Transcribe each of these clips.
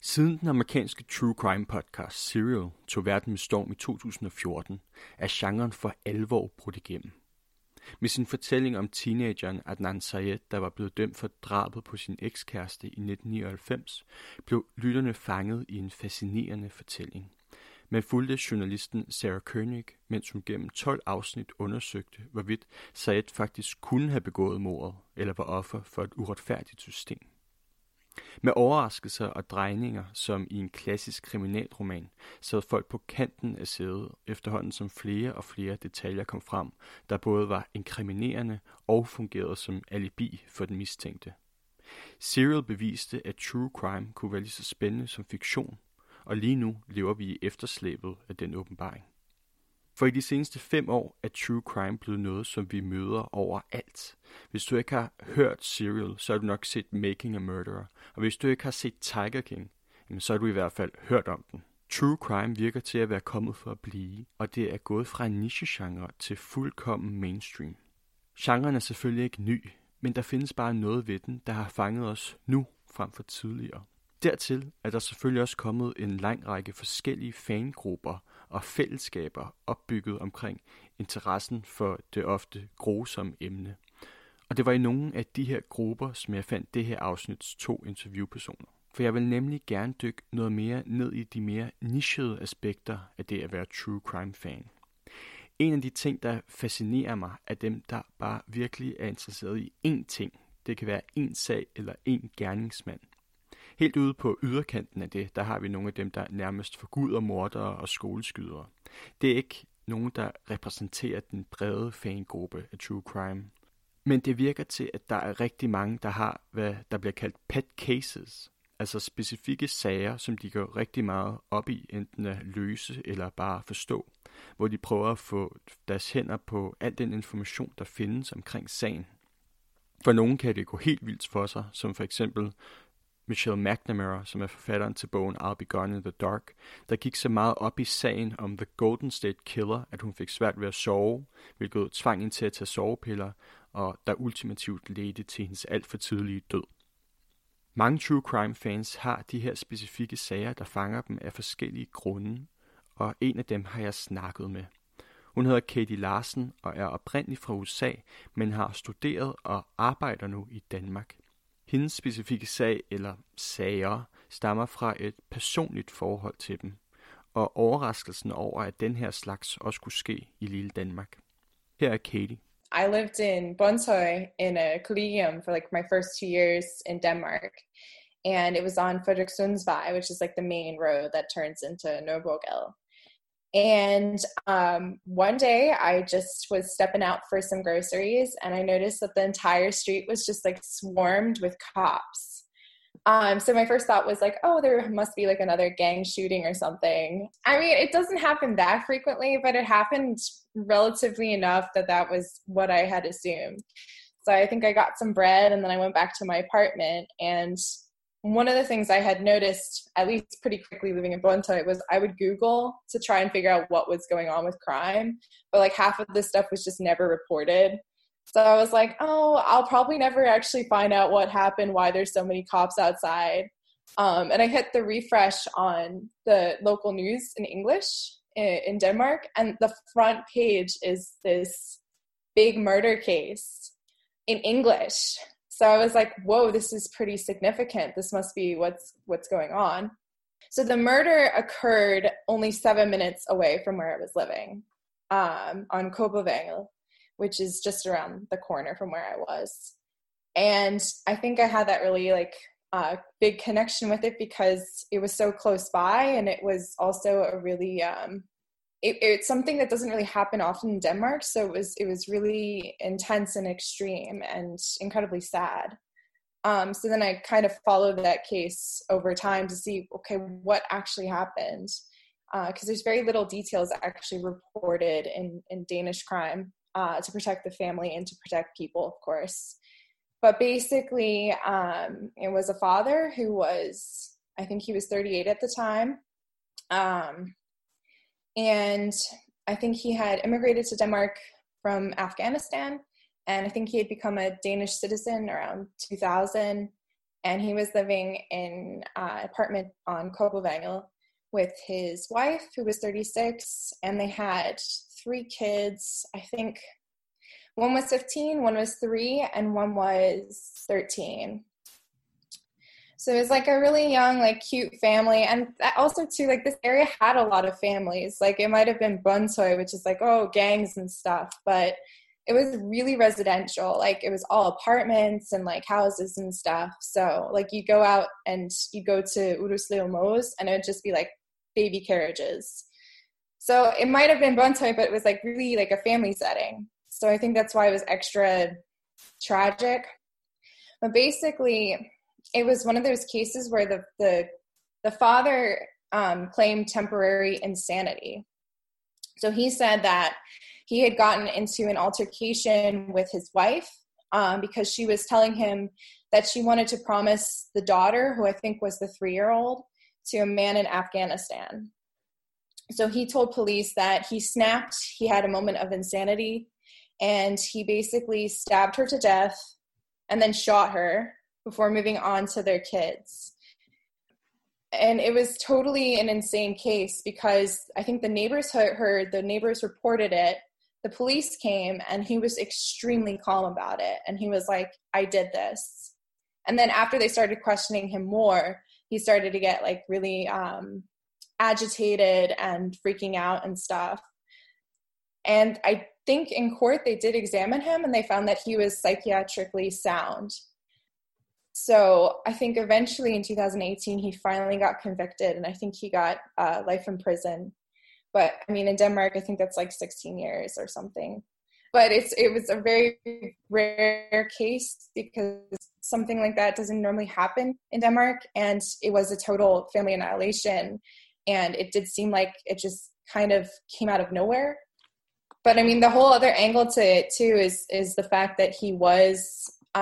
Siden den amerikanske true crime podcast Serial tog verden med storm i 2014, er genren for alvor brudt igennem. Med sin fortælling om teenageren Adnan Syed, der var blevet dømt for drabet på sin ekskæreste i 1999, blev lytterne fanget i en fascinerende fortælling. Man fulgte journalisten Sarah Koenig, mens hun gennem 12 afsnit undersøgte, hvorvidt Syed faktisk kunne have begået mordet eller var offer for et uretfærdigt system. Med overraskelser og drejninger, som i en klassisk kriminalroman, sad folk på kanten af sædet, efterhånden som flere og flere detaljer kom frem, der både var inkriminerende og fungerede som alibi for den mistænkte. Serial beviste, at true crime kunne være lige så spændende som fiktion, og lige nu lever vi i efterslæbet af den åbenbaring. For i de seneste 5 år er true crime blevet noget, som vi møder overalt. Hvis du ikke har hørt Serial, så har du nok set Making a Murderer. Og hvis du ikke har set Tiger King, så har du i hvert fald hørt om den. True crime virker til at være kommet for at blive, og det er gået fra en nichegenre til fuldkommen mainstream. Genren er selvfølgelig ikke ny, men der findes bare noget ved den, der har fanget os nu frem for tidligere. Dertil er der selvfølgelig også kommet en lang række forskellige fangrupper og fællesskaber opbygget omkring interessen for det ofte grusomme emne. Og det var i nogle af de her grupper, som jeg fandt det her afsnits 2 interviewpersoner. For jeg vil nemlig gerne dykke noget mere ned i de mere nichede aspekter af det at være true crime fan. En af de ting, der fascinerer mig, er dem, der bare virkelig er interesseret i én ting. Det kan være én sag eller én gerningsmand. Helt ude på yderkanten af det, der har vi nogle af dem, der nærmest forguder mordere og skoleskydere. Det er ikke nogen, der repræsenterer den brede fangruppe af true crime. Men det virker til, at der er rigtig mange, der har, hvad der bliver kaldt pet cases. Altså specifikke sager, som de går rigtig meget op i, enten at løse eller bare forstå. Hvor de prøver at få deres hænder på al den information, der findes omkring sagen. For nogen kan det gå helt vildt for sig, som for eksempel Michelle McNamara, som er forfatteren til bogen I'll Be Gone in the Dark, der gik så meget op i sagen om The Golden State Killer, at hun fik svært ved at sove, hvilket tvang hende til at tage sovepiller, og der ultimativt ledte til hendes alt for tidlige død. Mange true crime fans har de her specifikke sager, der fanger dem af forskellige grunde, og en af dem har jeg snakket med. Hun hedder Katie Larsen og er oprindelig fra USA, men har studeret og arbejder nu i Danmark. Hendes specifikke sag eller sager stammer fra et personligt forhold til dem, og overraskelsen over, at den her slags også kunne ske i lille Danmark. Her er Katie. I lived in Brønshøj in a collegium for like my first 2 years in Denmark, and it was on Frederikssundsvej, which is like the main road that turns into Nørrebrogade. And one day I just was stepping out for some groceries and I noticed that the entire street was just like swarmed with cops. So my first thought was like, oh, there must be like another gang shooting or something. I mean, it doesn't happen that frequently, but it happened relatively enough that that was what I had assumed. So I think I got some bread and then I went back to my apartment, and one of the things I had noticed, at least pretty quickly living in Brønshøj, was I would Google to try and figure out what was going on with crime, but like half of this stuff was just never reported. So I was like, oh, I'll probably never actually find out what happened, why there's so many cops outside. And I hit the refresh on the local news in English in Denmark, and the front page is this big murder case in English. So I was like, whoa, this is pretty significant. This must be what's going on. So the murder occurred only 7 minutes away from where I was living, on Kobbervangel, which is just around the corner from where I was. And I think I had that really big connection with it because it was so close by, and it was also a really it's something that doesn't really happen often in Denmark, so it was really intense and extreme and incredibly sad. So then I kind of followed that case over time to see, okay, what actually happened, because there's very little details actually reported in Danish crime to protect the family and to protect people, of course. But basically, it was a father who was, I think he was 38 at the time. And I think he had immigrated to Denmark from Afghanistan, and I think he had become a Danish citizen around 2000. and he was living in an apartment on Kopenhagen with his wife, who was 36, and they had 3 kids. I think one was 15, one was 3, and one was 13. So it was like a really young, like cute family. And also too, like this area had a lot of families. Like it might have been Brøndshøj, which is like, oh, gangs and stuff. But it was really residential. Like it was all apartments and like houses and stuff. So like you go out and you go to Uruslev Mose and it would just be like baby carriages. So it might have been Brøndshøj, but it was like really like a family setting. So I think that's why it was extra tragic. But basically, it was one of those cases where the father claimed temporary insanity. So he said that he had gotten into an altercation with his wife because she was telling him that she wanted to promise the daughter, who I think was the 3-year-old, to a man in Afghanistan. So he told police that he snapped, he had a moment of insanity, and he basically stabbed her to death and then shot her before moving on to their kids. And it was totally an insane case because I think the neighbors heard, the neighbors reported it, the police came, and he was extremely calm about it. And he was like, I did this. And then after they started questioning him more, he started to get like really agitated and freaking out and stuff. And I think in court they did examine him and they found that he was psychiatrically sound. So I think eventually in 2018, he finally got convicted, and I think he got life in prison. But I mean, in Denmark, I think that's like 16 years or something. But it was a very rare case because something like that doesn't normally happen in Denmark, and it was a total family annihilation. And it did seem like it just kind of came out of nowhere. But I mean, the whole other angle to it too is the fact that he was,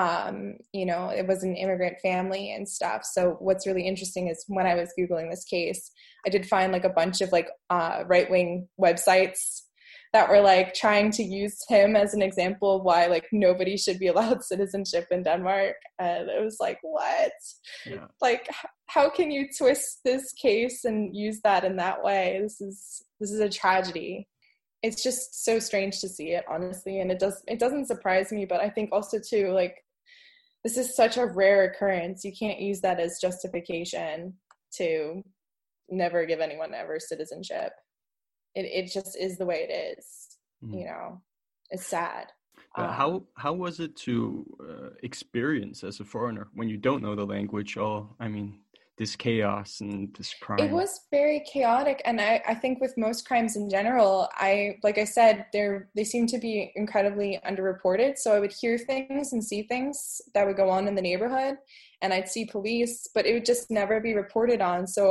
it was an immigrant family and stuff. So what's really interesting is when I was Googling this case, I did find like a bunch of like right-wing websites that were like trying to use him as an example of why like nobody should be allowed citizenship in Denmark. And it was like, what? Yeah. Like, how can you twist this case and use that in that way? This is a tragedy. It's just so strange to see it, honestly. And it doesn't surprise me, but I think also too, like, this is such a rare occurrence. You can't use that as justification to never give anyone ever citizenship. It just is the way it is. It's sad. How was it to experience as a foreigner when you don't know the language or, this chaos and this crime? It was very chaotic, and I think with most crimes in general, like I said, they seem to be incredibly underreported. So I would hear things and see things that would go on in the neighborhood, and I'd see police, but it would just never be reported on. So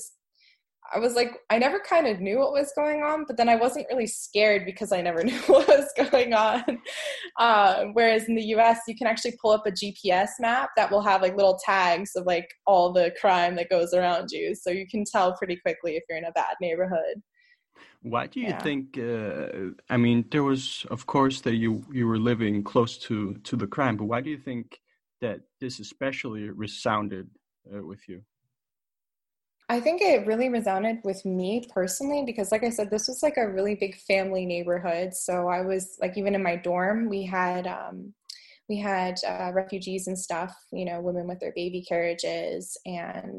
I was like, I never kind of knew what was going on, but then I wasn't really scared because I never knew what was going on. Whereas in the US, you can actually pull up a GPS map that will have like little tags of like all the crime that goes around you. So you can tell pretty quickly if you're in a bad neighborhood. Why do you think, there was, of course, that you were living close to the crime, but why do you think that this especially resounded with you? I think it really resounded with me personally because, like I said, this was like a really big family neighborhood. So I was like, even in my dorm, we had refugees and stuff, women with their baby carriages. And,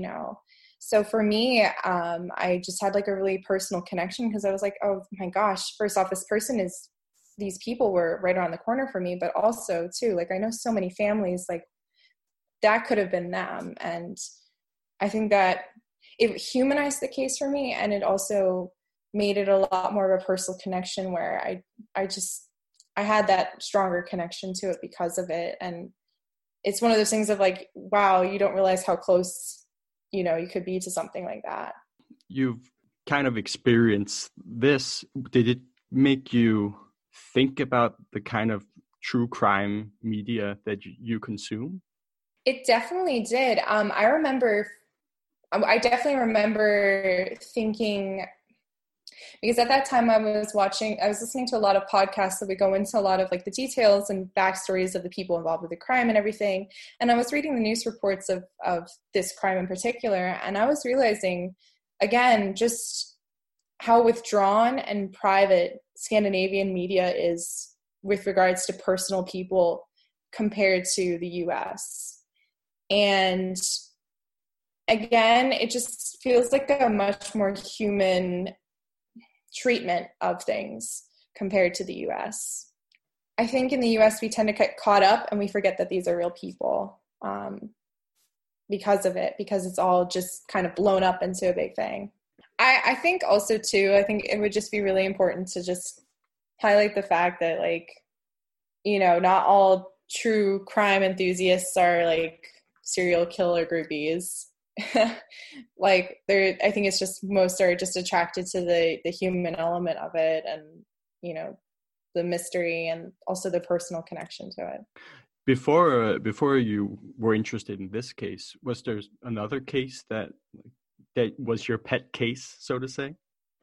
so for me, I just had like a really personal connection because I was like, oh my gosh, first off, these people were right around the corner for me, but also too, like I know so many families, like that could have been them. And I think that it humanized the case for me, and it also made it a lot more of a personal connection where I had that stronger connection to it because of it. And it's one of those things of like, wow, you don't realize how close, you could be to something like that. You've kind of experienced this. Did it make you think about the kind of true crime media that you consume? It definitely did. I definitely remember thinking, Because at that time I was listening to a lot of podcasts that would go into a lot of like the details and backstories of the people involved with the crime and everything. And I was reading the news reports of this crime in particular. And I was realizing, again, just how withdrawn and private Scandinavian media is with regards to personal people compared to the US. And again, it just feels like a much more human treatment of things compared to the US. I think in the US we tend to get caught up and we forget that these are real people because of it, because it's all just kind of blown up into a big thing. I think also too, I think it would just be really important to just highlight the fact that, like, you know, not all true crime enthusiasts are like serial killer groupies. Like, I think it's just most are just attracted to the human element of it, and, you know, the mystery and also the personal connection to it. Before you were interested in this case, was there another case that was your pet case, so to say?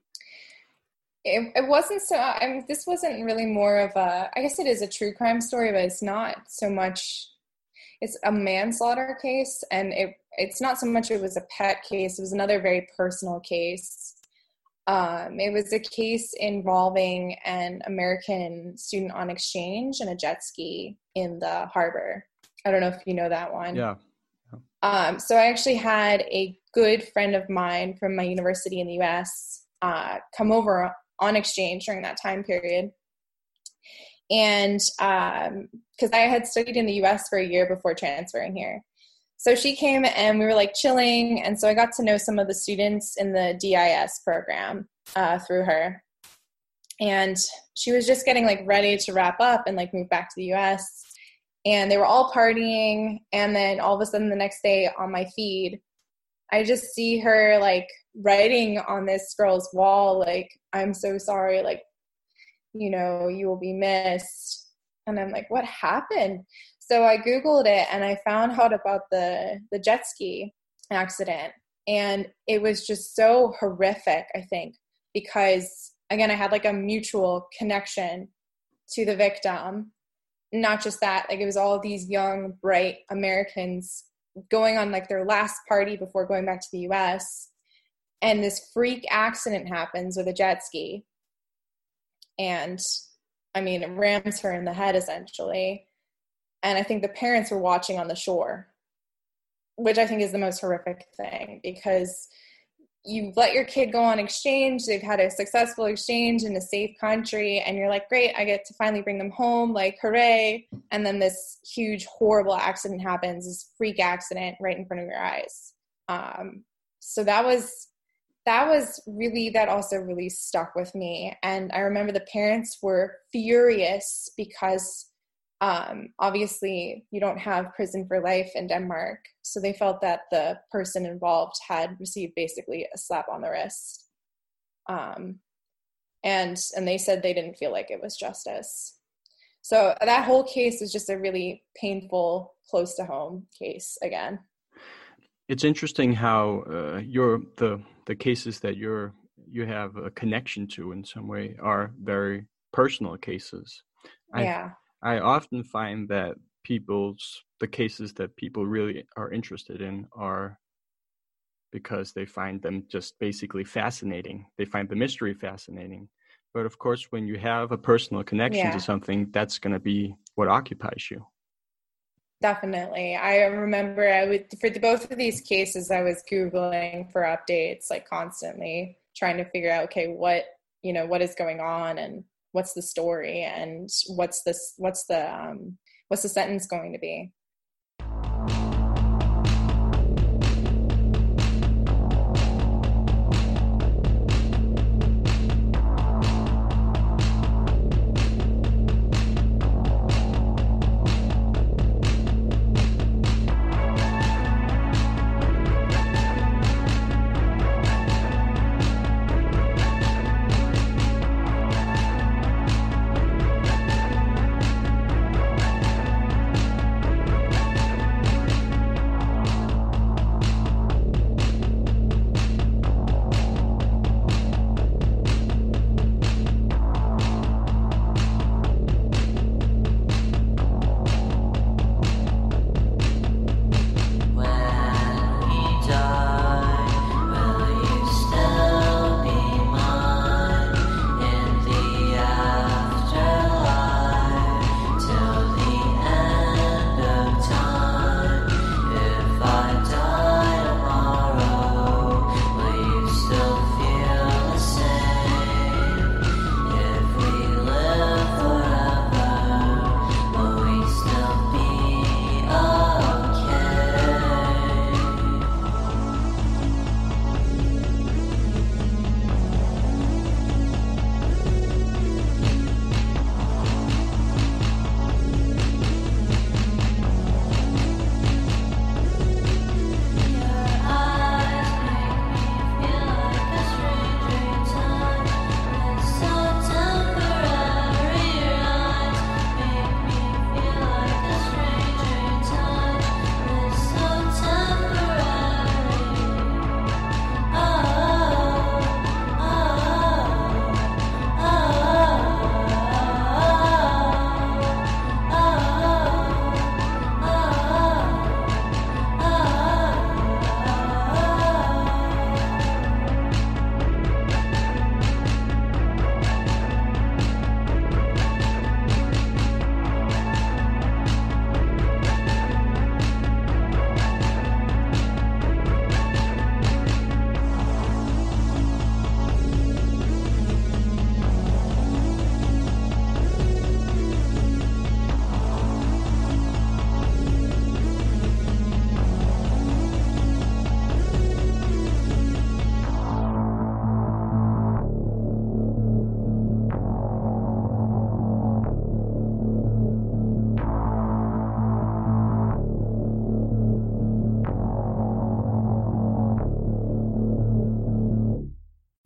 It wasn't so. I mean, this wasn't really more of a. I guess it is a true crime story, but it's not so much. It's a manslaughter case, and it's not so much it was a pet case. It was another very personal case. It was a case involving an American student on exchange and a jet ski in the harbor. I don't know if you know that one. Yeah. So I actually had a good friend of mine from my university in the U.S. Come over on exchange during that time period. And because I had studied in the U.S. for a year before transferring here. So she came and we were like chilling. And so I got to know some of the students in the DIS program through her. And she was just getting like ready to wrap up and like move back to the U.S. And they were all partying. And then all of a sudden the next day on my feed, I just see her like writing on this girl's wall, like, "I'm so sorry, like, you know, you will be missed." And I'm like, what happened? So I Googled it and I found out about the jet ski accident. And it was just so horrific, I think, because, again, I had like a mutual connection to the victim. Not just that, like, it was all these young, bright Americans going on like their last party before going back to the US. And this freak accident happens with a jet ski. And I mean, it rams her in the head essentially. And I think the parents were watching on the shore, which I think is the most horrific thing, because you let your kid go on exchange. They've had a successful exchange in a safe country. And you're like, great, I get to finally bring them home. Like, hooray. And then this huge, horrible accident happens, this freak accident right in front of your eyes. So that also really stuck with me. And I remember the parents were furious because obviously you don't have prison for life in Denmark. So they felt that the person involved had received basically a slap on the wrist. And they said they didn't feel like it was justice. So that whole case is just a really painful, close to home case again. It's interesting how the cases that you have a connection to in some way are very personal cases. I often find that the cases that people really are interested in are because they find them just basically fascinating. They find the mystery fascinating. But of course, when you have a personal connection to something, that's going to be what occupies you. Definitely. I remember for both of these cases, I was Googling for updates, like constantly trying to figure out, okay, what is going on and what's the story and what's the sentence going to be.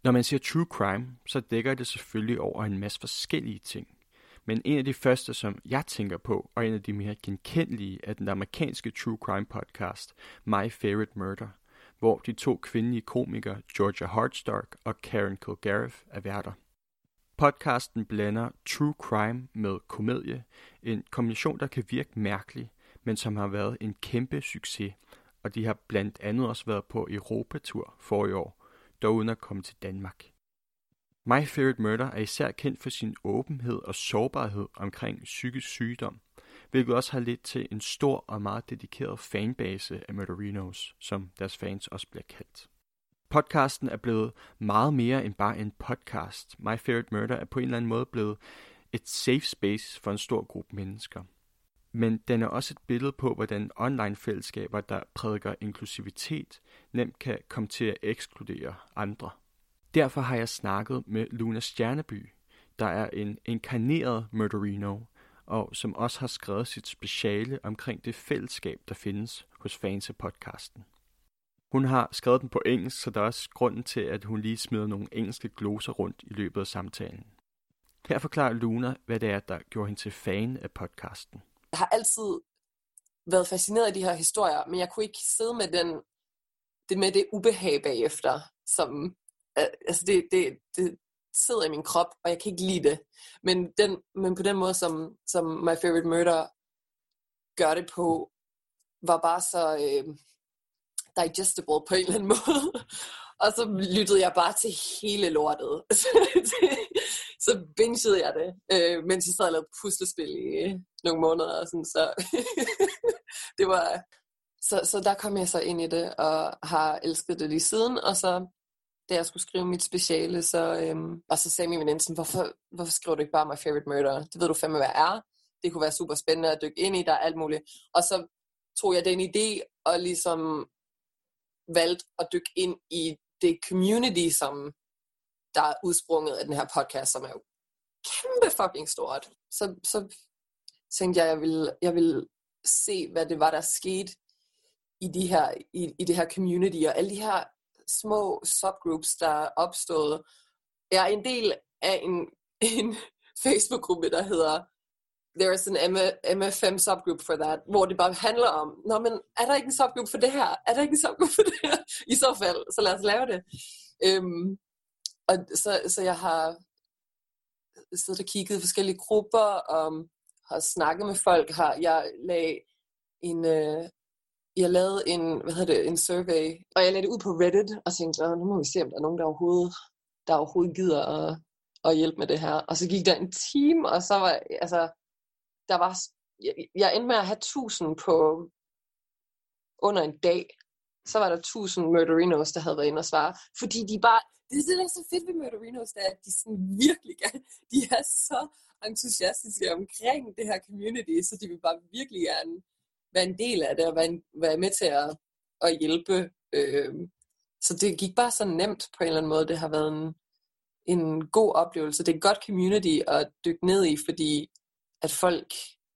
Når man siger true crime, så dækker det selvfølgelig over en masse forskellige ting. Men en af de første, som jeg tænker på, og en af de mere genkendelige, er den amerikanske true crime podcast, My Favorite Murder, hvor de 2 kvindelige komikere, Georgia Hardstark og Karen Kilgariff, er værter. Podcasten blander true crime med komedie, en kombination, der kan virke mærkelig, men som har været en kæmpe succes, og de har blandt andet også været på Europatur forrige år, dog uden at komme til Danmark. My Favorite Murder er især kendt for sin åbenhed og sårbarhed omkring psykisk sygdom, hvilket også har ledt til en stor og meget dedikeret fanbase af Murderinos, som deres fans også bliver kaldt. Podcasten er blevet meget mere end bare en podcast. My Favorite Murder er på en eller anden måde blevet et safe space for en stor gruppe mennesker. Men den er også et billede på, hvordan online-fællesskaber, der prædiker inklusivitet, nemt kan komme til at ekskludere andre. Derfor har jeg snakket med Luna Stjerneby, der er en inkarneret Murderino, og som også har skrevet sit speciale omkring det fællesskab, der findes hos fans af podcasten. Hun har skrevet den på engelsk, så der er også grunden til, at hun lige smider nogle engelske gloser rundt i løbet af samtalen. Her forklarer Luna, hvad det er, der gjorde hende til fan af podcasten. Jeg har altid været fascineret af de her historier, men jeg kunne ikke sidde med det ubehag bagefter, som altså det sidder i min krop, og jeg kan ikke lide det. Men på den måde, som My Favorite Murder gør det på, var bare så digestible på en eller anden måde. Og så lyttede jeg bare til hele lortet. Så bingede jeg det, mens jeg sad og lavede puslespil i nogle måneder. Og sådan, så det var... Så der kom jeg så ind i det, og har elsket det lige siden. Og så, da jeg skulle skrive mit speciale, og så sagde min veninde sådan, hvorfor skriver du ikke bare My Favorite Murder? Det ved du fandme, hvad er. Det kunne være super spændende at dykke ind i, der er alt muligt. Og så tog jeg den idé, og ligesom valgte at dykke ind i det community, som der er udsprunget af den her podcast, som er jo kæmpe fucking stort. Så tænkte jeg ville se, hvad det var, der skete i det her community, og alle de her små subgroups, der er opstået. Jeg er en del af en Facebook-gruppe, der hedder There is an MFM subgroup for that, hvor det bare handler om, men er der ikke en subgroup for det her? Er der ikke en subgroup for det her? I så fald, så lad os lave det. Og så jeg har siddet og kigget i forskellige grupper, og har snakket med folk. Jeg lavede en survey, og jeg lagde det ud på Reddit, og tænkte, nu må vi se, om der er nogen, der overhovedet gider at hjælpe med det her. Og så gik der en time, og så var, jeg endte med at have 1000 på under en dag. Så var der 1000 Murderinos, der havde været inde og svare. Fordi de bare, det der er så fedt ved Murderinos, det er, at de sådan virkelig de er så entusiastiske omkring det her community, så de vil bare virkelig gerne være en del af det, og være med til at hjælpe. Så det gik bare så nemt på en eller anden måde. Det har været en god oplevelse. Det er et godt community at dykke ned i, fordi at folk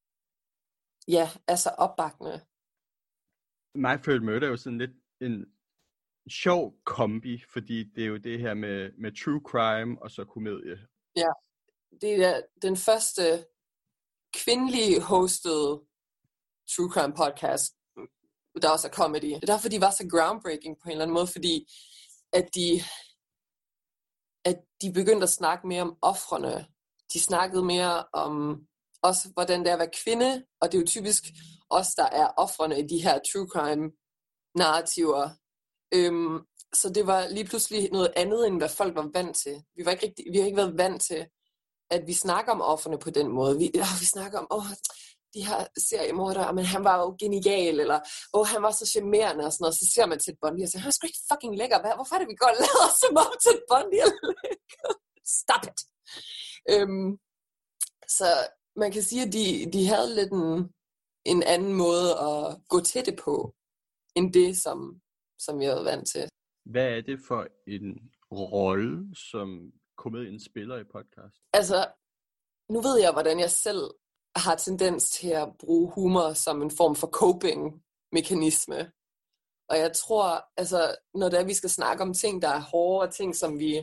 er så opbakkende. My Favorite Murder er jo sådan lidt en sjov kombi, fordi det er jo det her med true crime og så komedie. Ja, det er den første kvindelige hosted true crime podcast, der også er comedy. Det er derfor, de var så groundbreaking på en eller anden måde, fordi at de begyndte at snakke mere om ofrene. De snakkede mere om også, hvordan det er at være kvinde, og det er jo typisk os, der er ofrene i de her true crime narrativer. Så det var lige pludselig noget andet, end hvad folk var vant til. Vi har ikke været vant til, at vi snakker om ofrene på den måde. Vi snakker om, de her seriemordere, men han var jo genial, eller han var så charmerende, og sådan noget. Så ser man Ted Bundy og siger, han er sgu ikke fucking lækker. Hvorfor er det, vi går og lader som om Ted Bundy er lækker? Stop it! Så man kan sige, at de havde lidt en anden måde at gå til det på, end det, som jeg er vant til. Hvad er det for en rolle, som komedien spiller i podcast? Altså, nu ved jeg, hvordan jeg selv har tendens til at bruge humor som en form for coping-mekanisme. Og jeg tror, altså, når det er, vi skal snakke om ting, der er hårde, og ting,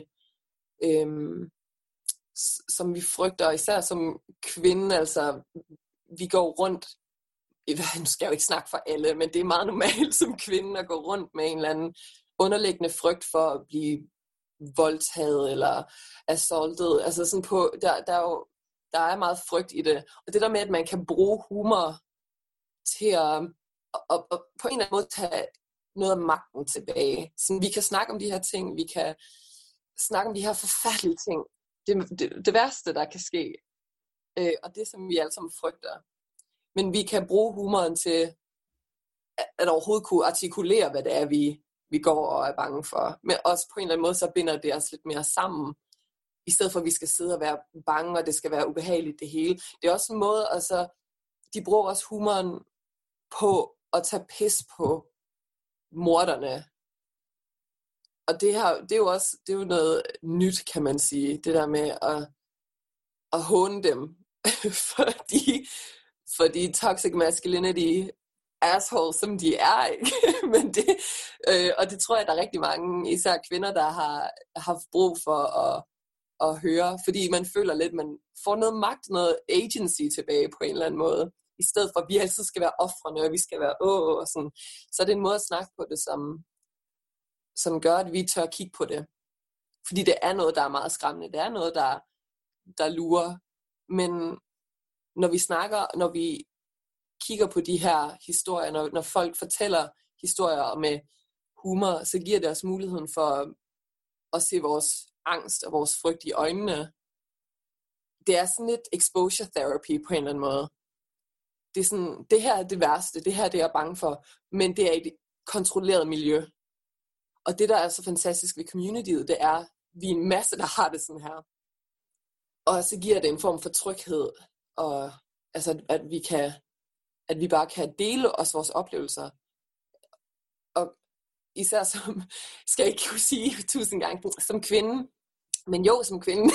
som vi frygter, især som kvinde, altså, vi går rundt, nu skal jeg jo ikke snakke for alle, men det er meget normalt som kvinde at gå rundt med en eller anden underliggende frygt for at blive voldtaget eller assaultet. Altså sådan på, der er meget frygt i det. Og det der med, at man kan bruge humor til at på en eller anden måde tage noget af magten tilbage. Så vi kan snakke om de her ting, vi kan snakke om de her forfærdelige ting. Det værste, der kan ske. Og det, som vi alle sammen frygter. Men vi kan bruge humoren til at overhovedet kunne artikulere, hvad det er, vi går og er bange for. Men også på en eller anden måde, så binder det os lidt mere sammen. I stedet for, at vi skal sidde og være bange, og det skal være ubehageligt det hele. Det er også en måde, altså, de bruger også humoren på at tage pis på morderne. Og det er jo noget nyt, kan man sige. Det der med at håne dem. fordi toxic masculinity assholes, som de er, ikke? Men og det tror jeg, der er rigtig mange, især kvinder, der har haft brug for at høre, fordi man føler lidt, man får noget magt, noget agency tilbage på en eller anden måde, i stedet for, at vi altid skal være ofrene, og vi skal være og sådan. Så er det en måde at snakke på det, som gør, at vi tør kigge på det. Fordi det er noget, der er meget skræmmende. Det er noget, der lurer. Men når vi kigger på de her historier, når folk fortæller historier med humor, så giver det os muligheden for at se vores angst og vores frygt i øjnene. Det er sådan lidt exposure therapy på en eller anden måde. Det er sådan, det her er det værste, det her det er jeg bange for, men det er et kontrolleret miljø. Og det, der er så fantastisk ved communityet, det er, vi er en masse, der har det sådan her. Og så giver det en form for tryghed, og altså, at vi bare kan dele os vores oplevelser. Og især skal jeg ikke kunne sige 1000 gange, som kvinde, men jo, som kvinde.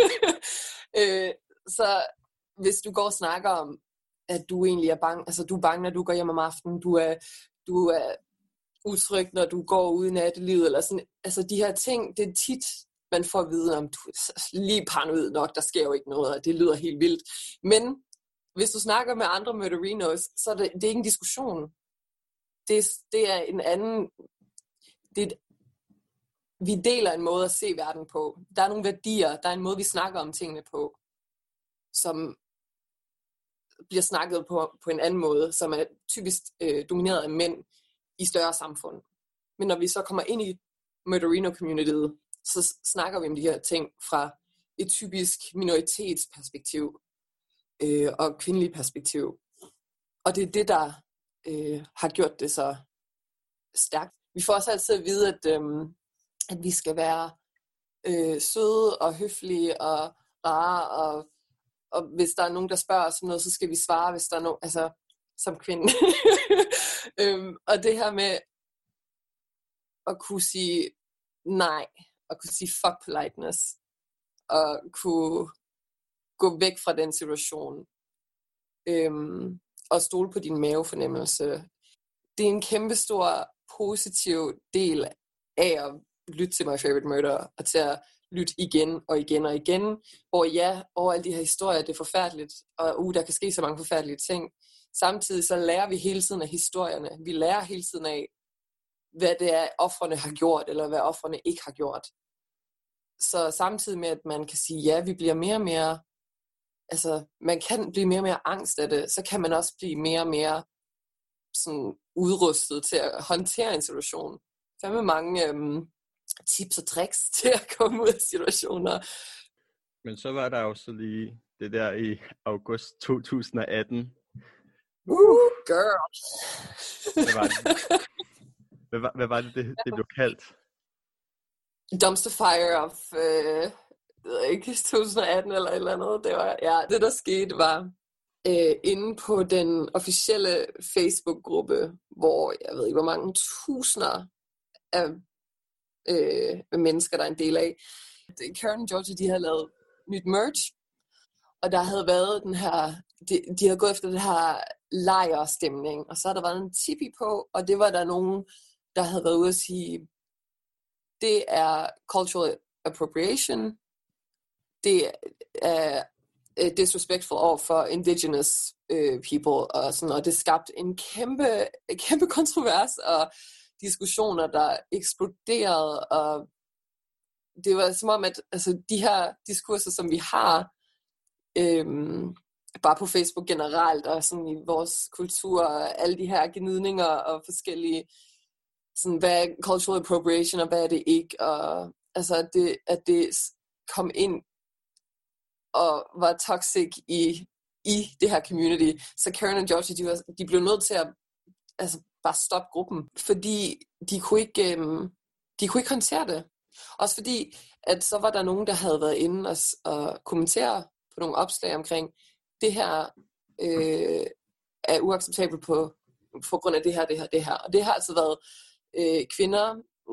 Så hvis du går og snakker om, at du egentlig er bange, altså du er bange, når du går hjem om aftenen, du er utryg, når du går ude i nattelivet, eller sådan, altså de her ting, det er tit, man får at vide, om du er lige paranoid nok, der sker jo ikke noget, og det lyder helt vildt. Men hvis du snakker med andre murderinos, så er det er ikke en diskussion. Det er en anden... Vi deler en måde at se verden på. Der er nogle værdier, der er en måde, vi snakker om tingene på, som bliver snakket på en anden måde, som er typisk domineret af mænd i større samfund. Men når vi så kommer ind i murderino-communityet, så snakker vi om de her ting fra et typisk minoritetsperspektiv og kvindelig perspektiv. Og det er det, der har gjort det så stærkt. Vi får også altid at vide, at vi skal være søde og høflige og rare, og hvis der er nogen, der spørger os om noget, så skal vi svare, hvis der er nogen, altså som kvinde. Og det her med at kunne sige nej, og kunne sige fuck politeness, og kunne gå væk fra den situation, og stole på din mavefornemmelse. Det er en kæmpestor positiv del af at lytte til My Favorite Murder, og til at lytte igen og igen og igen, hvor over alle de her historier, det er forfærdeligt, og der kan ske så mange forfærdelige ting. Samtidig så lærer vi hele tiden af historierne. Vi lærer hele tiden af, hvad det er, ofrene har gjort, eller hvad ofrene ikke har gjort. Så samtidig med, at man kan sige, ja, vi bliver mere og mere, altså man kan blive mere og mere angst af det, så kan man også blive mere og mere sådan udrustet til at håndtere en situation. Der er med mange tips og tricks til at komme ud af situationer. Men så var der jo så lige det der i august 2018. Girl! Hvad var det, det blev kaldt? Dumpster fire of ikke 2018 eller et eller andet. Det var, ja, det der skete var inde på den officielle Facebook-gruppe, hvor jeg ved ikke, hvor mange tusinder af mennesker, der er en del af. Karen Georgia, de havde lavet nyt merch, og der havde været den her, de havde gået efter det her lejrstemning, og så havde der været en tipi på, og det var der nogen, der havde været ude at sige, det er cultural appropriation, det er disrespectful over for indigenous people, og det skabte en kæmpe kontrovers og diskussioner, der eksploderede, og det var som om, at altså, de her diskurser, som vi har, bare på Facebook generelt, og sådan i vores kultur, og alle de her gnidninger og forskellige, sådan, hvad er cultural appropriation, og hvad er det ikke, og altså, at det kom ind og var toxic i det her community. Så Karen og Georgia, de blev nødt til at bare stoppe gruppen, fordi de kunne ikke håndtere det. Også fordi, at så var der nogen, der havde været inde og kommentere på nogle opslag omkring, det her er uacceptabelt på grund af det her. Og det har altså været kvinder,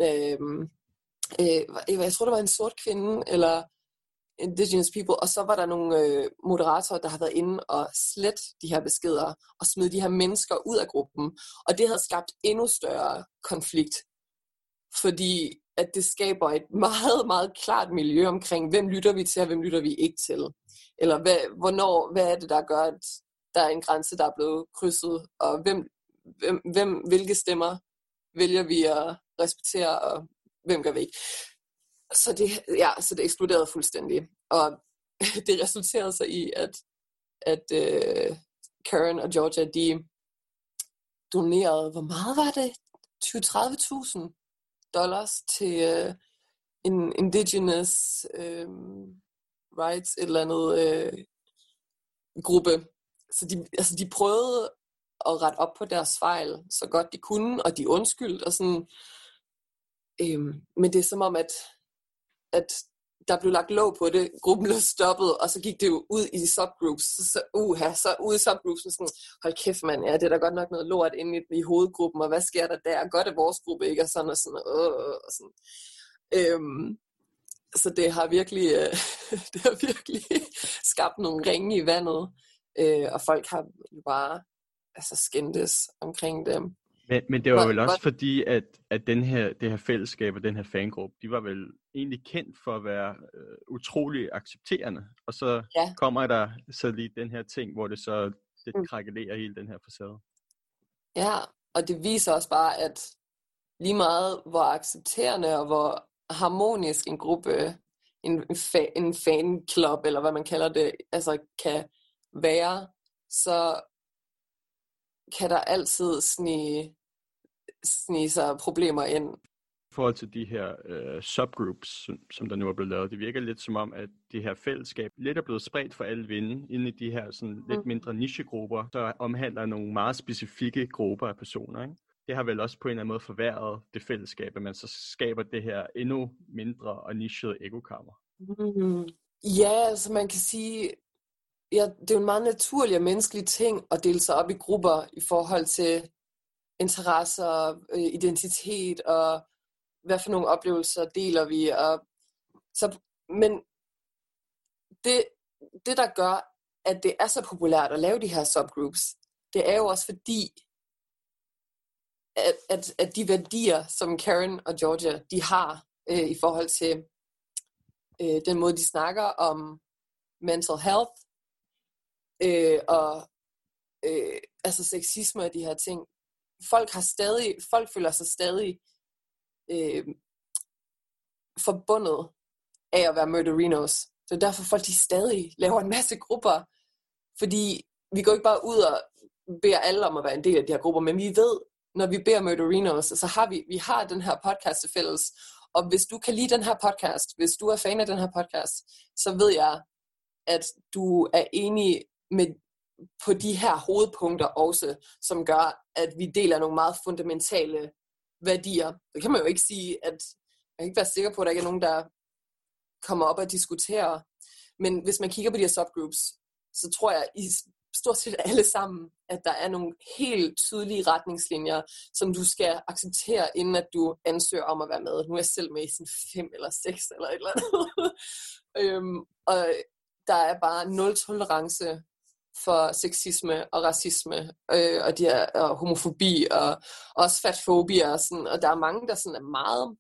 jeg tror, der var en sort kvinde, eller indigenous people, og så var der nogle moderatorer, der havde været inde og slet de her beskeder, og smide de her mennesker ud af gruppen, og det havde skabt endnu større konflikt, fordi at det skaber et meget, meget klart miljø omkring, hvem lytter vi til, og hvem lytter vi ikke til, eller hvad er det, der gør, at der er en grænse, der er blevet krydset, og hvilke stemmer vælger vi at respektere, og hvem gør vi ikke. Så det eksploderede fuldstændig. Og det resulterede så i, at Karen og Georgia, de donerede, hvor meget var det? $20,000 til en indigenous rights, et eller andet gruppe. Så de prøvede at rette op på deres fejl, så godt de kunne, og de undskyldte, og sådan. Men det er som om, at der blev lagt låg på det, gruppen blev stoppet, og så gik det jo ud i de subgroups, så ude i subgroups, sådan, hold kæft mand, ja, det er da godt nok noget lort inde i hovedgruppen, og hvad sker der der, godt er vores gruppe ikke, og sådan, og sådan, og sådan. Så det har virkelig skabt nogle ringe i vandet, og folk har jo bare skændtes omkring dem. Men det var vel også fordi, at det her fællesskab og den her fangruppe, de var vel egentlig kendt for at være utrolig accepterende. Og så kommer der så lige den her ting, hvor det så lidt krakelerer hele den her facade. Ja, og det viser også bare, at lige meget hvor accepterende og hvor harmonisk en gruppe, en fanklub, eller hvad man kalder det, altså kan være, så kan der altid snige sig problemer ind. I forhold til de her subgroups, som der nu er blevet lavet, det virker lidt som om, at det her fællesskab lidt er blevet spredt for alle vinde, inde i de her sådan lidt mindre nichegrupper, der omhandler nogle meget specifikke grupper af personer, ikke? Det har vel også på en eller anden måde forværret det fællesskab, at man så skaber det her endnu mindre og nichede ekokammer. Ja, altså man kan sige, ja, det er jo en meget naturlig og menneskelig ting at dele sig op i grupper i forhold til interesser, identitet og hvad for nogle oplevelser deler vi. Men det, der gør, at det er så populært at lave de her subgroups, det er jo også fordi, at de værdier, som Karen og Georgia, de har i forhold til den måde, de snakker om mental health, og sexisme og de her ting. Folk føler sig stadig forbundet af at være murderinos. Så derfor folk de stadig laver en masse grupper, fordi vi går ikke bare ud og beder alle om at være en del af de her grupper, men vi ved, når vi beder murderinos, så har vi har den her podcast til fælles, og hvis du kan lide den her podcast, hvis du er fan af den her podcast, så ved jeg, at du er enig på de her hovedpunkter også, som gør, at vi deler nogle meget fundamentale værdier. Det kan man jo ikke sige, at man kan ikke være sikker på, at der ikke er nogen, der kommer op og diskuterer. Men hvis man kigger på de her subgroups, så tror jeg i stort set alle sammen, at der er nogle helt tydelige retningslinjer, som du skal acceptere, inden at du ansøger om at være med. Nu er jeg selv med i sådan 5 eller 6 eller et eller andet. Og der er bare 0 tolerance for sexisme og racisme, og de her, og homofobi, og også fatfobi, og sådan, og der er mange, der sådan er meget,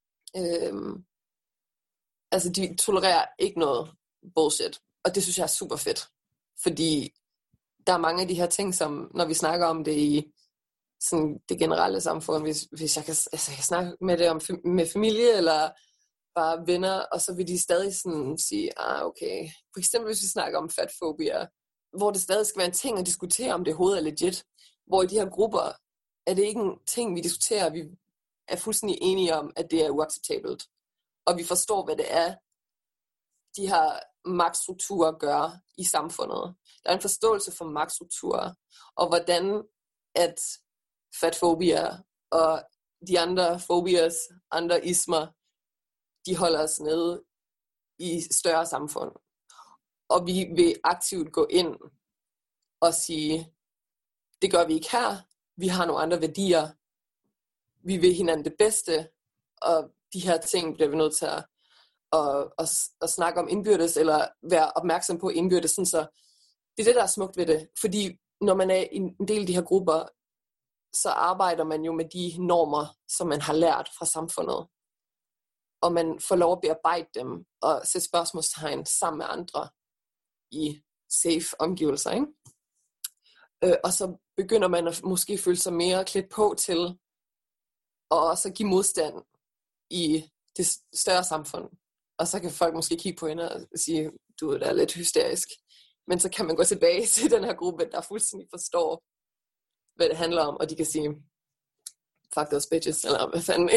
altså de tolererer ikke noget bullshit, og det synes jeg er super fedt, fordi der er mange af de her ting, som når vi snakker om det i sådan det generelle samfund, hvis jeg kan snakke med det om med familie, eller bare venner, og så vil de stadig sådan sige, okay, for eksempel hvis vi snakker om fatfobia, hvor det stadig skal være en ting at diskutere, om det overhovedet er legit, hvor i de her grupper, er det ikke en ting, vi diskuterer, vi er fuldstændig enige om, at det er uacceptabelt, og vi forstår, hvad det er, de her magtstrukturer gør i samfundet. Der er en forståelse for magtstrukturer, og hvordan at fatfobia og de andre fobias, andre ismer, de holder os nede i større samfund. Og vi vil aktivt gå ind og sige, det gør vi ikke her, vi har nogle andre værdier, vi vil hinanden det bedste, og de her ting bliver vi nødt til at snakke om indbyrdes, eller være opmærksom på indbyrdes, sådan så det er det, der er smukt ved det. Fordi når man er i en del af de her grupper, så arbejder man jo med de normer, som man har lært fra samfundet. Og man får lov at bearbejde dem, og sætte spørgsmålstegn sammen med andre i safe omgivelser, ikke? Og så begynder man at måske føle sig mere klædt på til, og også give modstand i det større samfund. Og så kan folk måske kigge på hende og sige, du er da lidt hysterisk. Men så kan man gå tilbage til den her gruppe, der fuldstændig forstår, hvad det handler om, og de kan sige, fuck those bitches, eller hvad fanden.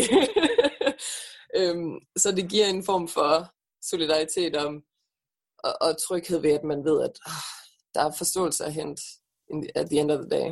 Så det giver en form for solidaritet og tryghed ved, at man ved, at der er forståelse at hente at the end of the day.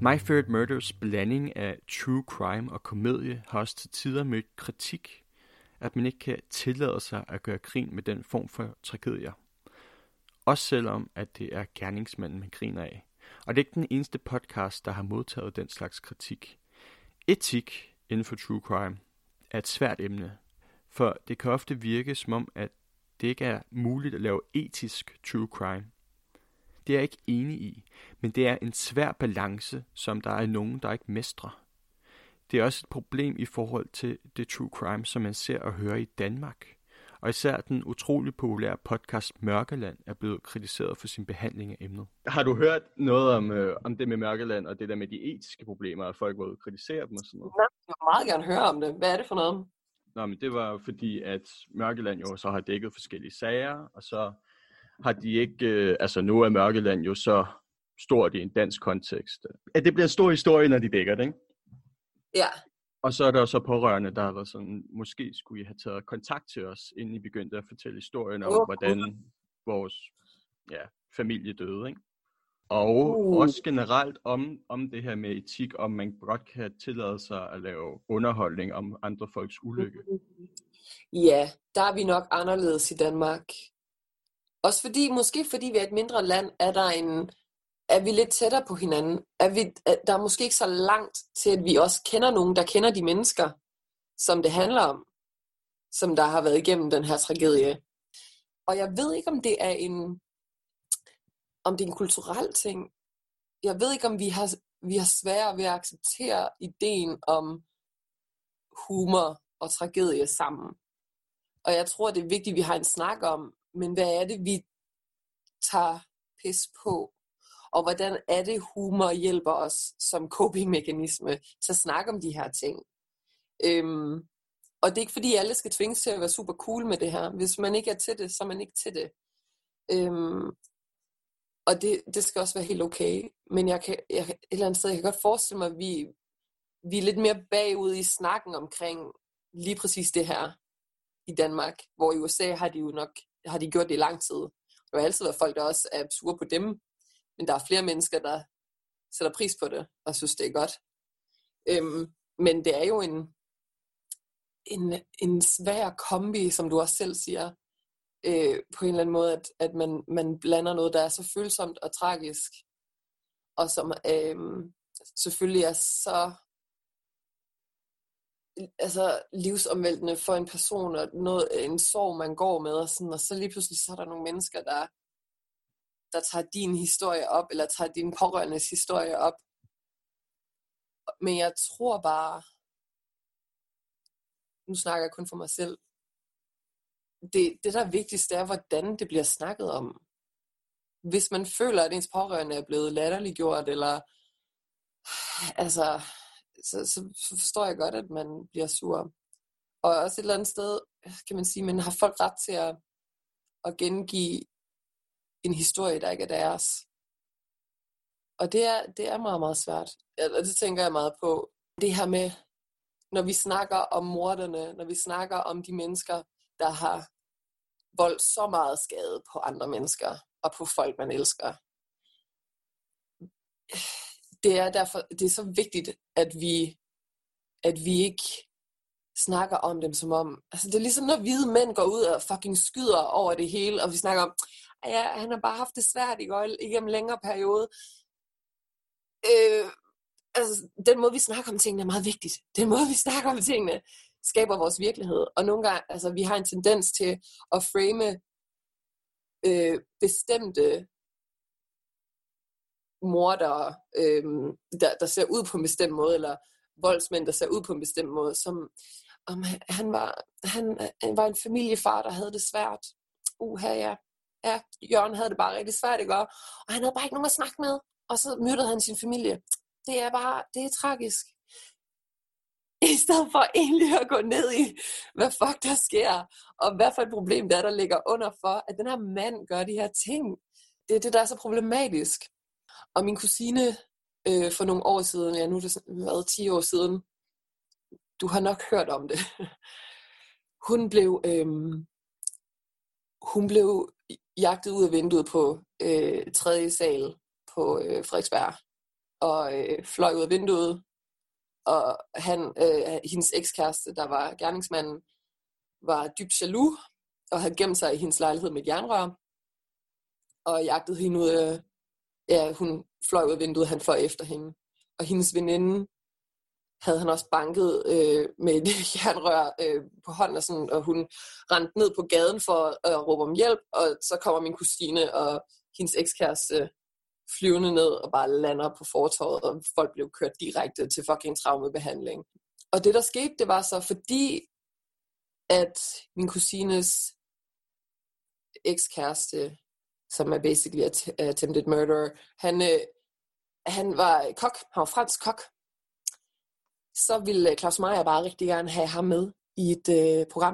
My Favorite Murders blanding af true crime og komedie har også til tider mødt kritik, at man ikke kan tillade sig at gøre grin med den form for tragedier. Også selvom, at det er gerningsmanden, man griner af. Og det er ikke den eneste podcast, der har modtaget den slags kritik. Etik inden for true crime er et svært emne, for det kan ofte virke som om, at det ikke er muligt at lave etisk true crime. Det er jeg ikke enig i, men det er en svær balance, som der er nogen, der ikke mestrer. Det er også et problem i forhold til det true crime, som man ser og hører i Danmark. Og især den utrolig populære podcast Mørkeland er blevet kritiseret for sin behandling af emnet. Har du hørt noget om det med Mørkeland og det der med de etiske problemer, at folk var kritiseret dem og sådan noget? Jeg vil meget gerne høre om det. Hvad er det for noget? Nå, men det var fordi, at Mørkeland jo så har dækket forskellige sager, og så har de ikke, nu er Mørkeland jo så stort i en dansk kontekst. At det bliver en stor historie, når de dækker det, ikke? Ja. Og så er der så pårørende, der har været sådan, måske skulle I have taget kontakt til os, inden I begyndte at fortælle historien om, hvordan vores familie døde, ikke? Og også generelt om det her med etik, om man godt kan tillade sig at lave underholdning om andre folks ulykke. Ja, der er vi nok anderledes i Danmark. Også måske fordi vi er et mindre land, er vi lidt tættere på hinanden. Der er måske ikke så langt til, at vi også kender nogen, der kender de mennesker, som det handler om, som der har været igennem den her tragedie. Og jeg ved ikke, om det er en kulturel ting. Jeg ved ikke, om vi har svært ved at acceptere ideen om humor og tragedie sammen. Og jeg tror, det er vigtigt, at vi har en snak om, men hvad er det, vi tager pis på? Og hvordan er det, humor hjælper os som coping-mekanisme til at snakke om de her ting? Og det er ikke fordi, alle skal tvinges til at være super cool med det her. Hvis man ikke er til det, så er man ikke til det. Og det skal også være helt okay. Men jeg et eller andet sted, jeg kan godt forestille mig, at vi er lidt mere bagud i snakken omkring lige præcis det her i Danmark. Hvor i USA har de gjort det i lang tid. Der har altid været folk, der også er sure på dem. Men der er flere mennesker, der sætter pris på det og synes, det er godt. Men det er jo en svær kombi, som du også selv siger, på en eller anden måde, at man blander noget, der er så følsomt og tragisk, og som selvfølgelig er så livsomvæltende for en person, og en sorg, man går med, og så lige pludselig så er der nogle mennesker, der tager din historie op, eller tager din pårørendes historie op. Men jeg tror bare, nu snakker jeg kun for mig selv, det der er vigtigst, det er, hvordan det bliver snakket om. Hvis man føler, at ens pårørende er blevet latterliggjort, eller så forstår jeg godt, at man bliver sur. Og også et eller andet sted, kan man sige, man har folk ret til at gengive en historie, der ikke er deres. Og det er meget, meget svært. Og det tænker jeg meget på. Det her med, når vi snakker om morderne, når vi snakker om de mennesker, der har voldt så meget skade på andre mennesker, og på folk, man elsker. Det er så vigtigt, at vi ikke snakker om dem som om, det er ligesom når hvide mænd går ud og fucking skyder over det hele, og vi snakker om, ja, han har bare haft det svært igennem en længere periode. Den måde, vi snakker om tingene, er meget vigtigt. Den måde, vi snakker om tingene, skaber vores virkelighed. Og nogle gange, vi har en tendens til at frame bestemte mordere, der ser ud på en bestemt måde, eller voldsmænd, der ser ud på en bestemt måde, som om han var en familiefar, der havde det svært. Ja, Jørgen havde det bare rigtig svært, ikke? Og han havde bare ikke nogen at snakke med, og så myrdede han sin familie. Det er tragisk. I stedet for egentlig at gå ned i, hvad fuck der sker, og hvad for et problem der ligger under for, at den her mand gør de her ting. Det er det, der er så problematisk. Og min kusine for nogle år siden, nu er det været 10 år siden, du har nok hørt om det. Hun blev jagtet ud af vinduet på 3. sal på Frederiksberg. og fløj ud af vinduet. Og hendes ekskæreste, der var gerningsmanden, var dybt jaloux, og havde gemt sig i hendes lejlighed med et jernrør, og jagtede hende ud. Hun fløj ud af vinduet, han fløj efter hende. Og hendes veninde havde han også banket med et jernrør på hånden, og, sådan, og hun rendte ned på gaden for at råbe om hjælp, og så kommer min kusine og hendes ekskæreste flyvende ned og bare lander på fortovet, og folk blev kørt direkte til fucking traumebehandling. Og det der skete, det var så fordi, at min kusines ekskæreste, som er basically attempted murderer, han var kok, han var fransk kok, så ville Claus Meyer bare rigtig gerne have ham med i et program.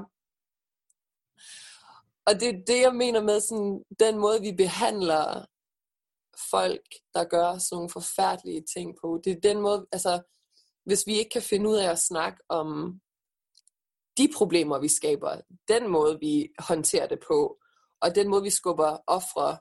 Og det er det, jeg mener med sådan, den måde, vi behandler folk, der gør sådan nogle forfærdelige ting på. Det er den måde, altså, hvis vi ikke kan finde ud af at snakke om de problemer, vi skaber, den måde, vi håndterer det på, og den måde, vi skubber ofre,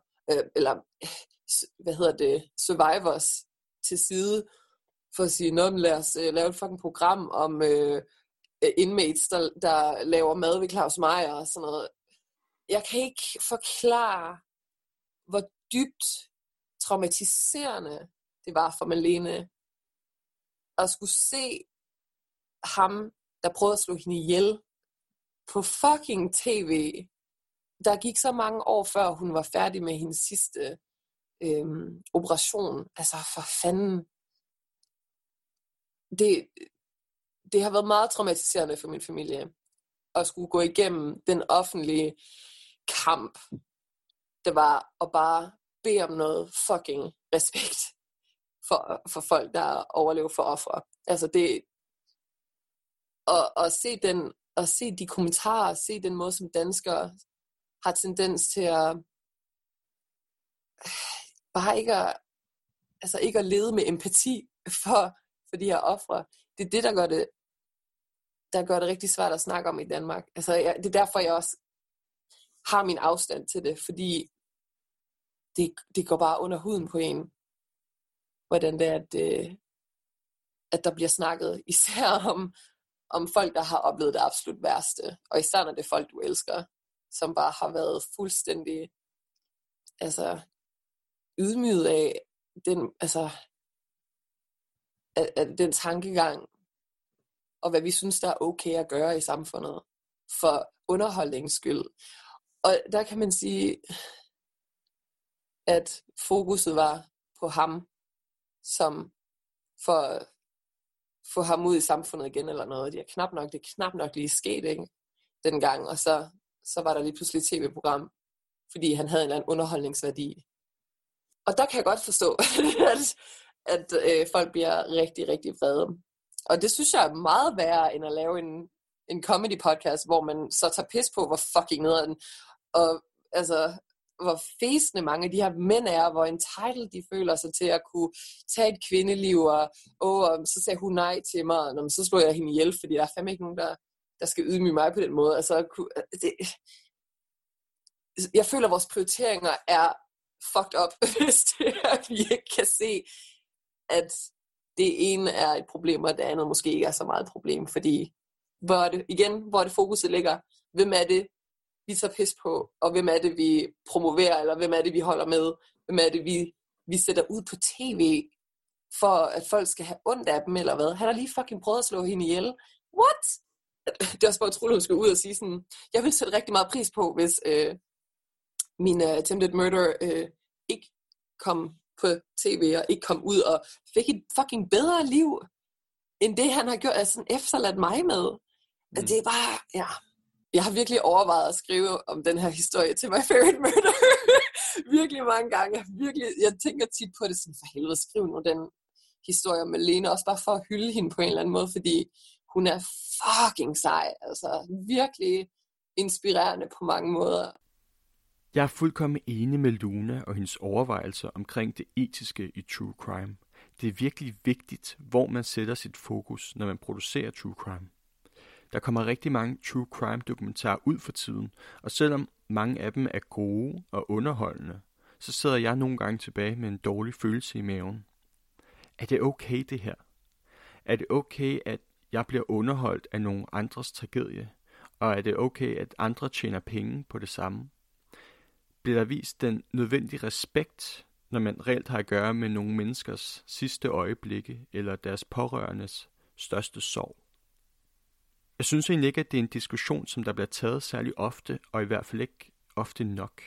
survivors til side, for at sige, lad os lave et fucking program om inmates, der laver mad ved Claus Meyer og sådan noget. Jeg kan ikke forklare, hvor dybt traumatiserende det var for Malene at skulle se ham, der prøvede at slå hende ihjel på fucking tv. Der gik så mange år før hun var færdig med hendes sidste operation. Altså for fanden. Det har været meget traumatiserende for min familie at skulle gå igennem den offentlige kamp. Det var at bare bede om noget fucking respekt for folk, der overlever for ofre. Altså det at se de kommentarer, se den måde, som danskere har tendens til at bare ikke at lede med empati for de her ofre. Det er det, der gør det rigtig svært at snakke om i Danmark. Altså, det er derfor, jeg også har min afstand til det, fordi det går bare under huden på en, hvordan det er, at der bliver snakket især om folk, der har oplevet det absolut værste, og især når det er folk, du elsker, som bare har været fuldstændig ydmyget af den tankegang, og hvad vi synes, der er okay at gøre i samfundet, for underholdningens skyld. Og der kan man sige, at fokuset var på ham, som for at få ham ud i samfundet igen eller noget. Det er knap nok lige sket, ikke? Dengang, og så var der lige pludselig et tv-program, fordi han havde en eller anden underholdningsværdi. Og der kan jeg godt forstå, at folk bliver rigtig, rigtig vrede. Og det synes jeg er meget værre, end at lave en comedy-podcast, hvor man så tager pis på, hvor fucking nederen, og altså, hvor fæsende mange af de her mænd er, hvor entitled de føler sig til at kunne tage et kvindeliv, og så sagde hun nej til mig, og så slår jeg hende ihjel, fordi der er fandme ikke nogen, der skal ydmyge mig på den måde. Altså, jeg føler, at vores prioriteringer er fucked up, hvis det er, at vi ikke kan se, at det ene er et problem, og det andet måske ikke er så meget et problem, fordi hvor er det fokuset ligger? Hvem er det, vi tager pis på, og hvem er det, vi promoverer, eller hvem er det, vi holder med? Hvem er det, vi sætter ud på tv, for at folk skal have ondt af dem, eller hvad? Han har lige fucking prøvet at slå hende ihjel. What? Det er også bare utroligt, at hun skal ud og sige sådan, jeg vil sætte rigtig meget pris på, hvis min attempted murder ikke kom på tv, og ikke kom ud og fik et fucking bedre liv, end det han har gjort, altså efterladt mig med. Det er bare, ja. Jeg har virkelig overvejet at skrive om den her historie til My Favorite Murder. Virkelig mange gange. Jeg tænker tit på det, sådan for helvede, skriv nu den historie om Malene, også bare for at hylde hende på en eller anden måde, fordi hun er fucking sej. Altså virkelig inspirerende på mange måder. Jeg er fuldkommen enig med Luna og hendes overvejelser omkring det etiske i true crime. Det er virkelig vigtigt, hvor man sætter sit fokus, når man producerer true crime. Der kommer rigtig mange true crime dokumentarer ud for tiden, og selvom mange af dem er gode og underholdende, så sidder jeg nogle gange tilbage med en dårlig følelse i maven. Er det okay det her? Er det okay, at jeg bliver underholdt af nogle andres tragedie? Og er det okay, at andre tjener penge på det samme? Bliver der vist den nødvendige respekt, når man reelt har at gøre med nogle menneskers sidste øjeblikke eller deres pårørendes største sorg? Jeg synes egentlig ikke, at det er en diskussion, som der bliver taget særlig ofte, og i hvert fald ikke ofte nok.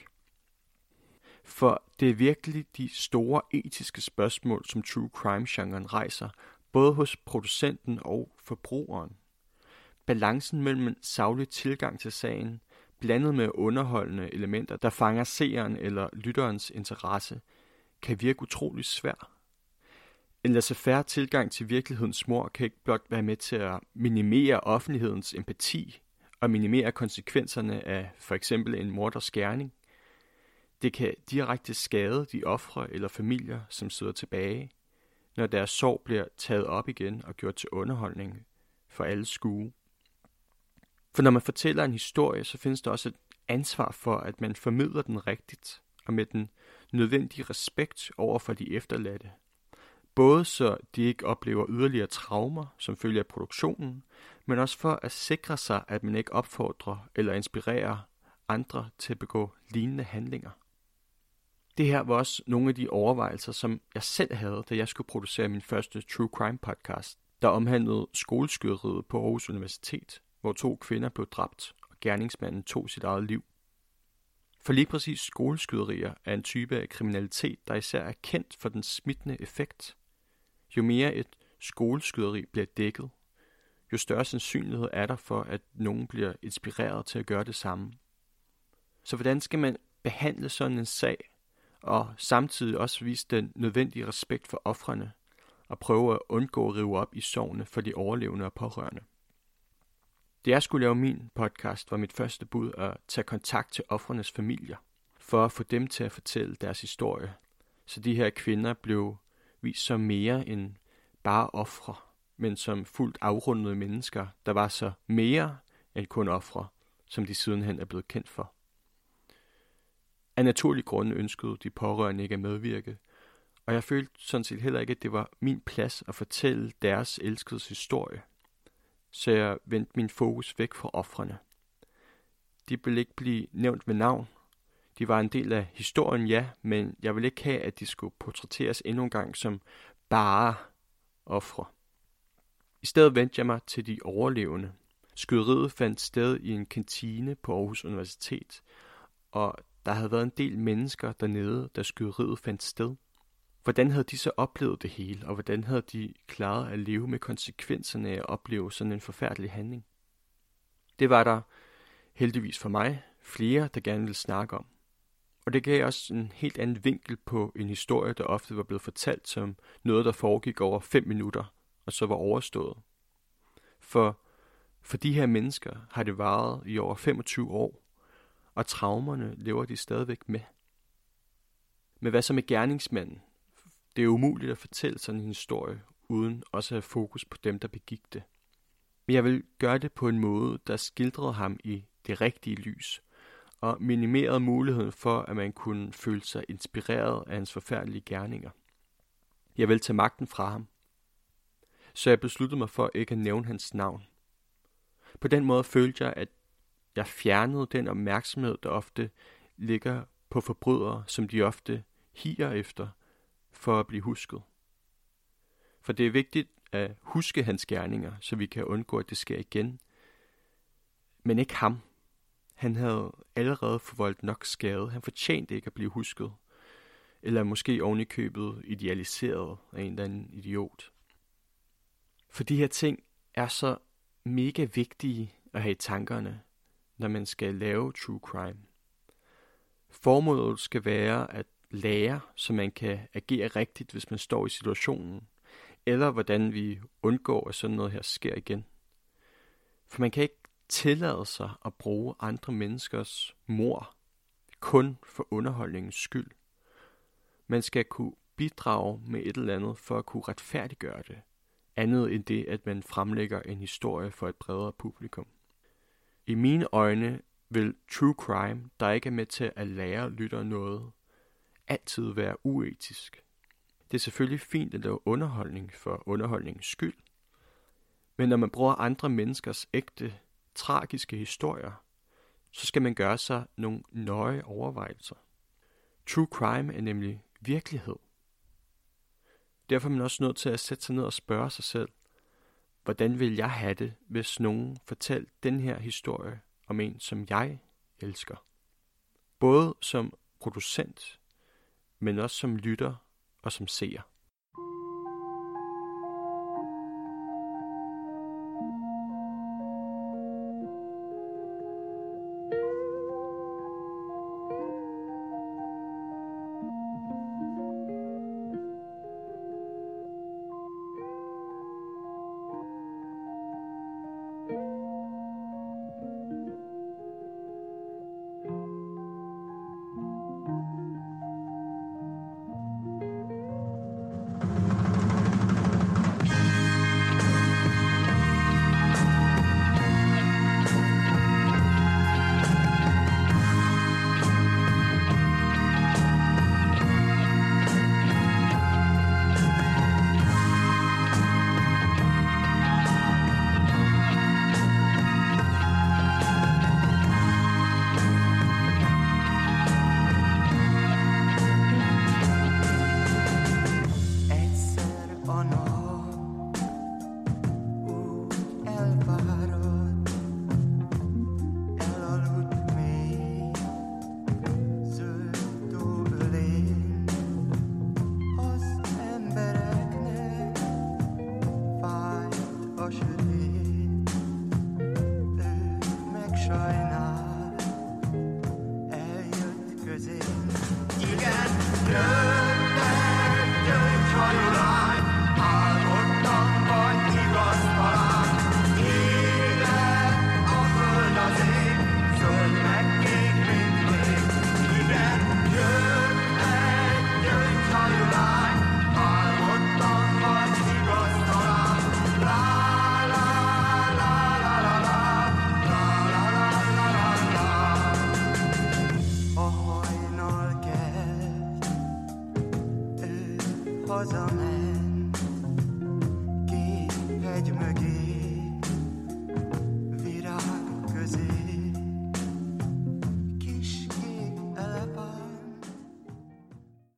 For det er virkelig de store etiske spørgsmål, som true crime-genren rejser, både hos producenten og forbrugeren. Balancen mellem en saglig tilgang til sagen, blandet med underholdende elementer, der fanger seeren eller lytterens interesse, kan virke utrolig svær. En laissez-faire tilgang til virkelighedens mor kan ikke blot være med til at minimere offentlighedens empati og minimere konsekvenserne af for eksempel en morders gerning. Det kan direkte skade de ofre eller familier, som sidder tilbage, når deres sorg bliver taget op igen og gjort til underholdning for alle skue. For når man fortæller en historie, så findes der også et ansvar for, at man formidler den rigtigt og med den nødvendige respekt over for de efterladte. Både så de ikke oplever yderligere traumer som følge af produktionen, men også for at sikre sig, at man ikke opfordrer eller inspirerer andre til at begå lignende handlinger. Det her var også nogle af de overvejelser, som jeg selv havde, da jeg skulle producere min første True Crime podcast, der omhandlede skoleskyderiet på Aarhus Universitet, hvor 2 kvinder blev dræbt, og gerningsmanden tog sit eget liv. For lige præcis skoleskyderier er en type af kriminalitet, der især er kendt for den smittende effekt. Jo mere et skoleskyderi bliver dækket, jo større sandsynlighed er der for, at nogen bliver inspireret til at gøre det samme. Så hvordan skal man behandle sådan en sag, og samtidig også vise den nødvendige respekt for ofrene, og prøve at undgå at rive op i sorgene for de overlevende og pårørende? Da jeg skulle lave min podcast, var mit første bud at tage kontakt til ofrenes familier, for at få dem til at fortælle deres historie, så de her kvinder blev vist som mere end bare ofre, men som fuldt afrundede mennesker, der var så mere end kun ofre, som de sidenhen er blevet kendt for. Af naturlige grunde ønskede de pårørende ikke at medvirke, og jeg følte sådan set heller ikke, at det var min plads at fortælle deres elskedes historie. Så jeg vendte min fokus væk fra ofrene. De ville ikke blive nævnt ved navn. De var en del af historien, ja, men jeg ville ikke have, at de skulle portrætteres endnu en gang som bare ofre. I stedet vendte jeg mig til de overlevende. Skyderiet fandt sted i en kantine på Aarhus Universitet, og der havde været en del mennesker dernede, da skyderiet fandt sted. Hvordan havde de så oplevet det hele, og hvordan havde de klaret at leve med konsekvenserne af at opleve sådan en forfærdelig handling? Det var der, heldigvis for mig, flere, der gerne ville snakke om. Og det gav også en helt anden vinkel på en historie, der ofte var blevet fortalt som noget, der foregik over 5 minutter, og så var overstået. For de her mennesker har det varet i over 25 år, og traumerne lever de stadigvæk med. Men hvad så med gerningsmanden? Det er umuligt at fortælle sådan en historie, uden også at have fokus på dem, der begik det. Men jeg vil gøre det på en måde, der skildrede ham i det rigtige lys, og minimerede muligheden for, at man kunne føle sig inspireret af hans forfærdelige gerninger. Jeg vil tage magten fra ham. Så jeg besluttede mig for ikke at nævne hans navn. På den måde følte jeg, at jeg fjernede den opmærksomhed, der ofte ligger på forbrydere, som de ofte higer efter, for at blive husket. For det er vigtigt at huske hans gerninger, så vi kan undgå, at det sker igen. Men ikke ham. Han havde allerede forvoldt nok skade. Han fortjente ikke at blive husket. Eller måske oven i købet idealiseret af en eller anden idiot. For de her ting er så mega vigtige at have i tankerne, når man skal lave true crime. Formålet skal være at lære, så man kan agere rigtigt, hvis man står i situationen, eller hvordan vi undgår, at sådan noget her sker igen. For man kan ikke tillade sig at bruge andre menneskers mord kun for underholdningens skyld. Man skal kunne bidrage med et eller andet for at kunne retfærdiggøre det, andet end det, at man fremlægger en historie for et bredere publikum. I mine øjne vil true crime, der ikke er med til at lære lytter noget, altid være uetisk. Det er selvfølgelig fint at lave underholdning for underholdningens skyld, men når man bruger andre menneskers ægte, tragiske historier, så skal man gøre sig nogle nøje overvejelser. True crime er nemlig virkelighed. Derfor er man også nødt til at sætte sig ned og spørge sig selv, hvordan vil jeg have det, hvis nogen fortalte den her historie om en, som jeg elsker? Både som producent, men også som lytter og som seer. was a man.